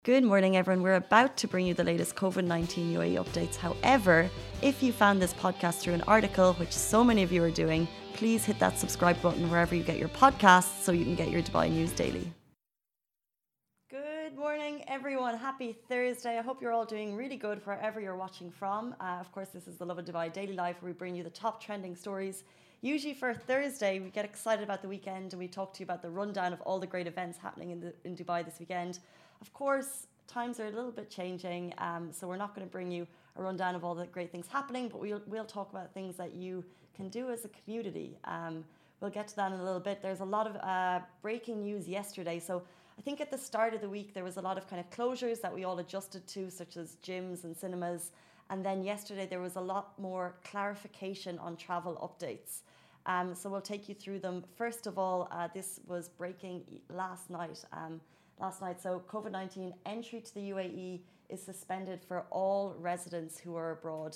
Good morning, everyone. We're about to bring you the latest COVID-19 UAE updates. However, if you found this podcast through an article, which so many of you are doing, please hit that subscribe button wherever you get your podcasts so you can get your Dubai news daily. Good morning, everyone. Happy Thursday. I hope you're all doing really good wherever you're watching from. Of course, this is the Lovin Dubai Daily Live, where we bring you the top trending stories. Usually for Thursday, we get excited about the weekend and we talk to you about the rundown of all the great events happening in Dubai this weekend. Of course, times are a little bit changing, so we're not going to bring you a rundown of all the great things happening, but we'll talk about things that you can do as a community. We'll get to that in a little bit. There's a lot of breaking news yesterday. So I think at the start of the week, there was a lot of kind of closures that we all adjusted to, such as gyms and cinemas. And then yesterday, there was a lot more clarification on travel updates. So we'll take you through them. First of all, this was breaking last night. So COVID-19 entry to the UAE is suspended for all residents who are abroad.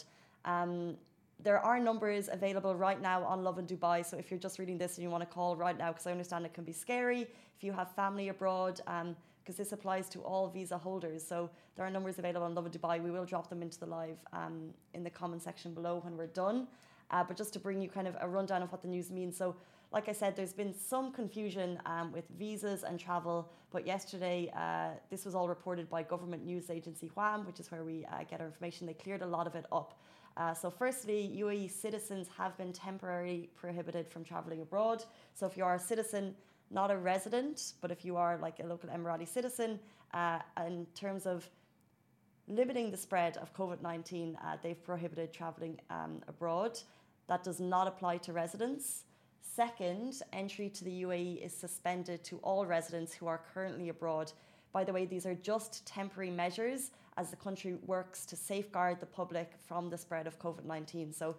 There are numbers available right now on Lovin Dubai. So if you're just reading this and you want to call right now, because I understand it can be scary if you have family abroad, because this applies to all visa holders. So there are numbers available on Lovin Dubai. We will drop them into the live in the comment section below when we're done. But just to bring you kind of a rundown of what the news means. So like I said, there's been some confusion with visas and travel, but yesterday this was all reported by government news agency WAM, which is where we get our information. They cleared a lot of it up. So firstly, UAE citizens have been temporarily prohibited from travelling abroad. So if you are a citizen, not a resident, but if you are like a local Emirati citizen, in terms of limiting the spread of COVID-19, they've prohibited travelling abroad. That does not apply to residents. Second, entry to the UAE is suspended to all residents who are currently abroad. By the way, these are just temporary measures as the country works to safeguard the public from the spread of COVID-19. So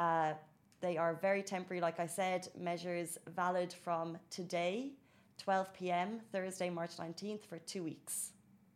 they are very temporary, like I said, measures valid from today, 12 p.m., Thursday, March 19th, for 2 weeks.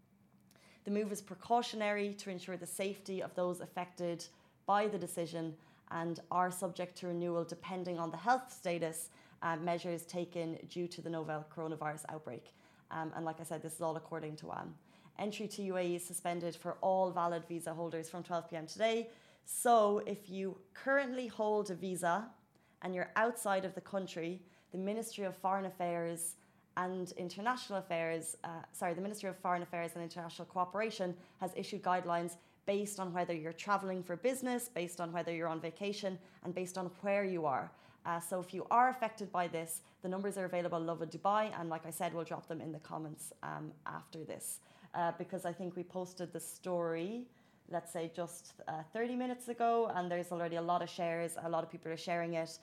The move is precautionary to ensure the safety of those affected by the decision and are subject to renewal depending on the health status measures taken due to the novel coronavirus outbreak. And like I said, this is all according to WAM. Entry to UAE is suspended for all valid visa holders from 12 p.m. today. So if you currently hold a visa and you're outside of the country, the Ministry of Foreign Affairs and International Affairs, the Ministry of Foreign Affairs and International Cooperation has issued guidelines based on whether you're traveling for business, based on whether you're on vacation, and based on where you are. So if you are affected by this, the numbers are available on Lovin Dubai, and like I said, we'll drop them in the comments after this. Because I think we posted the story, let's say just 30 minutes ago, and there's already a lot of shares, a lot of people are sharing it.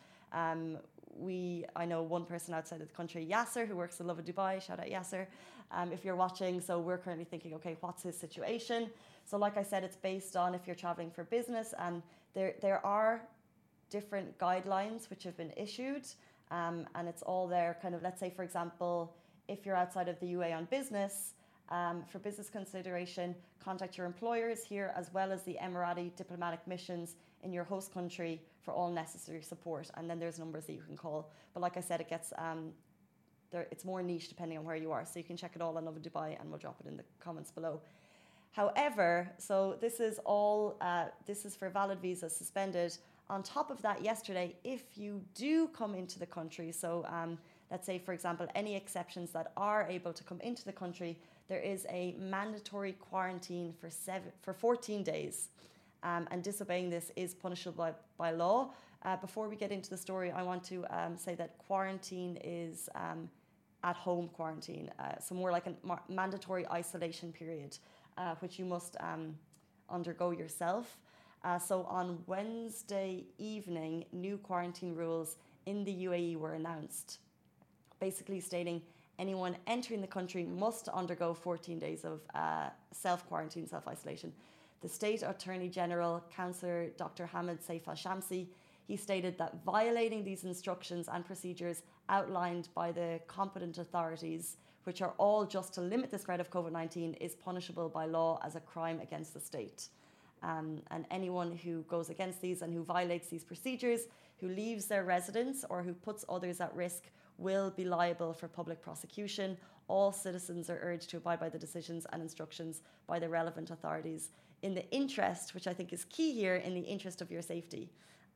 I know one person outside of the country, Yasser, who works in Lovin Dubai, shout out Yasser, if you're watching. So we're currently thinking, okay, what's his situation? So like I said, it's based on if you're traveling for business, and there are different guidelines which have been issued, and it's all there kind of, let's say, for example, if you're outside of the UAE on business, for business consideration, contact your employers here as well as the Emirati diplomatic missions in your host country for all necessary support. And then there's numbers that you can call. But like I said, it gets it's more niche depending on where you are. So you can check it all on Lovin Dubai, and we'll drop it in the comments below. However, so this is all, this is for valid visas suspended. On top of that, yesterday, if you do come into the country, so let's say, for example, any exceptions that are able to come into the country, there is a mandatory quarantine for 14 days. And disobeying this is punishable by law. Before we get into the story, I want to say that quarantine is at-home quarantine, so more like a mandatory isolation period, which you must undergo yourself. So on Wednesday evening, new quarantine rules in the UAE were announced, basically stating anyone entering the country must undergo 14 days of self-quarantine, self-isolation. The State Attorney General, Councillor Dr. Hamid Saif Al-Shamsi, he stated that violating these instructions and procedures outlined by the competent authorities, which are all just to limit the spread of COVID-19, is punishable by law as a crime against the state. And anyone who goes against these and who violates these procedures, who leaves their residence or who puts others at risk, will be liable for public prosecution. All citizens are urged to abide by the decisions and instructions by the relevant authorities in the interest, which I think is key here, in the interest of your safety.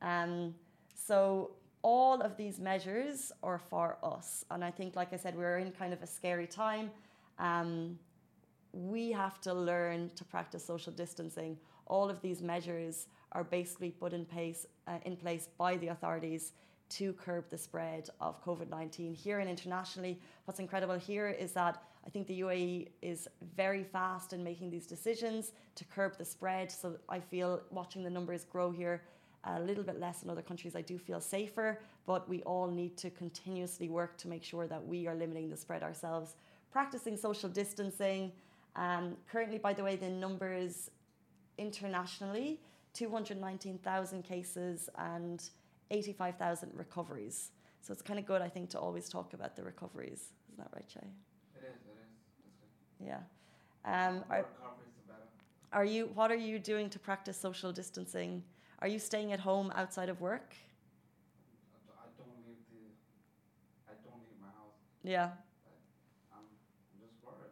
So all of these measures are for us. And I think, like I said, we're in kind of a scary time. We have to learn to practice social distancing. All of these measures are basically put in place by the authorities to curb the spread of COVID-19 here and internationally. What's incredible here is that I think the UAE is very fast in making these decisions to curb the spread. So I feel, watching the numbers grow here, a little bit less in other countries, I do feel safer, but we all need to continuously work to make sure that we are limiting the spread ourselves. Practicing social distancing. Currently, by the way, the numbers internationally, 219,000 cases and 85,000 recoveries. So it's kind of good, I think, to always talk about the recoveries. Isn't that right, Shay? It is. That's good. Yeah. Recoveries are better. What are you doing to practice social distancing? Are you staying at home outside of work? I don't leave my house. Yeah. I'm just worried,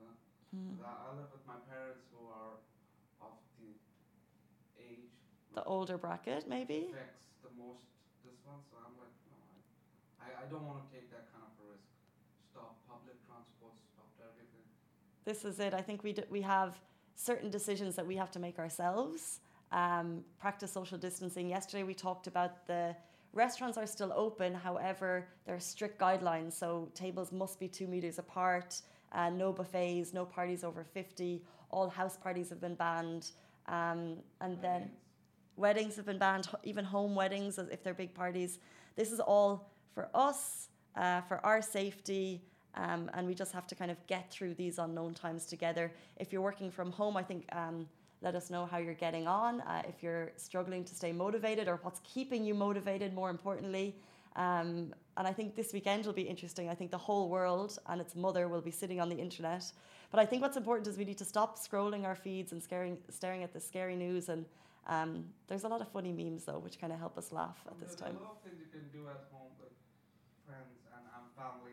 I live with my parents who are of the age. The older bracket, maybe? Affects the most this one, so I'm like, no, I don't want to take that kind of a risk. Stop public transport, stop everything. This is it. I think we have certain decisions that we have to make ourselves. Practice social distancing. Yesterday we talked about the restaurants are still open, however, there are strict guidelines. So tables must be 2 meters apart, no buffets, no parties over 50, all house parties have been banned. Then weddings have been banned, even home weddings, if they're big parties. This is all for us, for our safety, and we just have to kind of get through these unknown times together. If you're working from home, I think let us know how you're getting on, if you're struggling to stay motivated or what's keeping you motivated, more importantly. And I think this weekend will be interesting. I think the whole world and its mother will be sitting on the internet. But I think what's important is we need to stop scrolling our feeds and staring at the scary news. And there's a lot of funny memes, though, which kind of help us laugh at this time. There's a lot of things you can do at home with friends and family.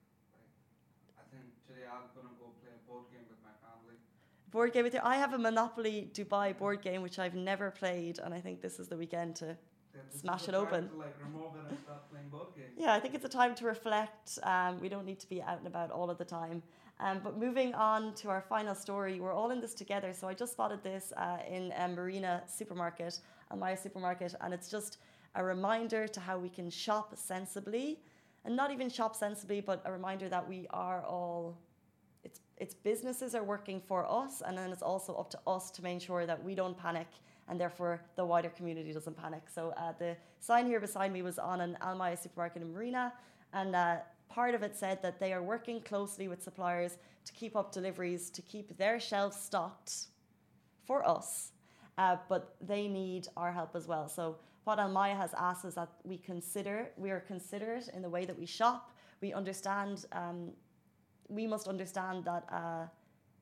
I think today I'm going to go play a board game with my family. Board game with you. I have a Monopoly Dubai board game, which I've never played. And I think this is the weekend to smash it open. To remove it and start playing board games. Yeah, I think it's a time to reflect. We don't need to be out and about all of the time. But moving on to our final story, we're all in this together. So I just spotted this in Marina supermarket, Almaya supermarket, and it's just a reminder to how we can shop sensibly, and not even shop sensibly, but a reminder that we are all. It's businesses are working for us, and then it's also up to us to make sure that we don't panic, and therefore the wider community doesn't panic. So the sign here beside me was on an Almaya supermarket in Marina, and part of it said that they are working closely with suppliers to keep up deliveries, to keep their shelves stocked for us, but they need our help as well. So what Almaya has asked is that we are considerate in the way that we shop. We understand. We must understand that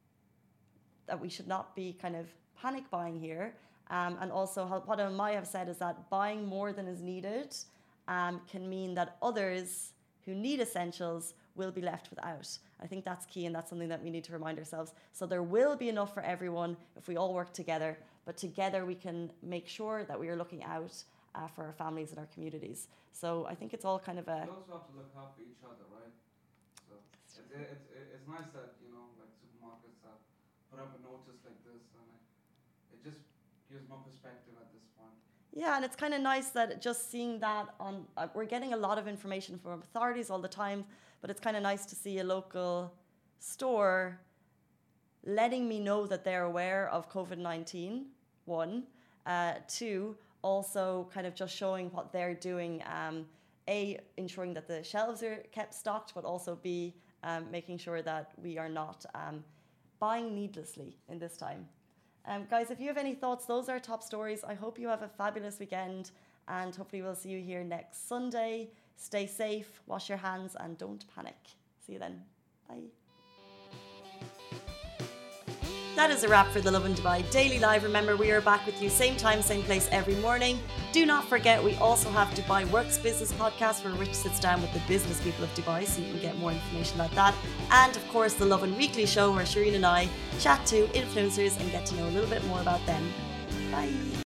we should not be kind of panic buying here. And also what Almaya have said is that buying more than is needed can mean that others who need essentials will be left without. I think that's key, and that's something that we need to remind ourselves. So there will be enough for everyone if we all work together, but together we can make sure that we are looking out for our families and our communities. So I think it's all kind of a... We also have to look out for each other, right? So it's nice that, supermarkets have put up a notice like this, and it just gives more perspective at this point. Yeah, and it's kind of nice that just seeing that on... we're getting a lot of information from authorities all the time, but it's kind of nice to see a local store letting me know that they're aware of COVID-19, one. Two, also kind of just showing what they're doing. A, ensuring that the shelves are kept stocked, but also B, making sure that we are not buying needlessly in this time. Guys, if you have any thoughts, those are our top stories. I hope you have a fabulous weekend, and hopefully we'll see you here next Sunday. Stay safe, wash your hands, and don't panic. See you then. Bye. That is a wrap for the Lovin Dubai Daily Live. Remember, we are back with you same time, same place every morning. Do not forget, we also have Dubai Works Business Podcast, where Rich sits down with the business people of Dubai, so you can get more information about that. And of course, the Lovin Weekly Show, where Shireen and I chat to influencers and get to know a little bit more about them. Bye.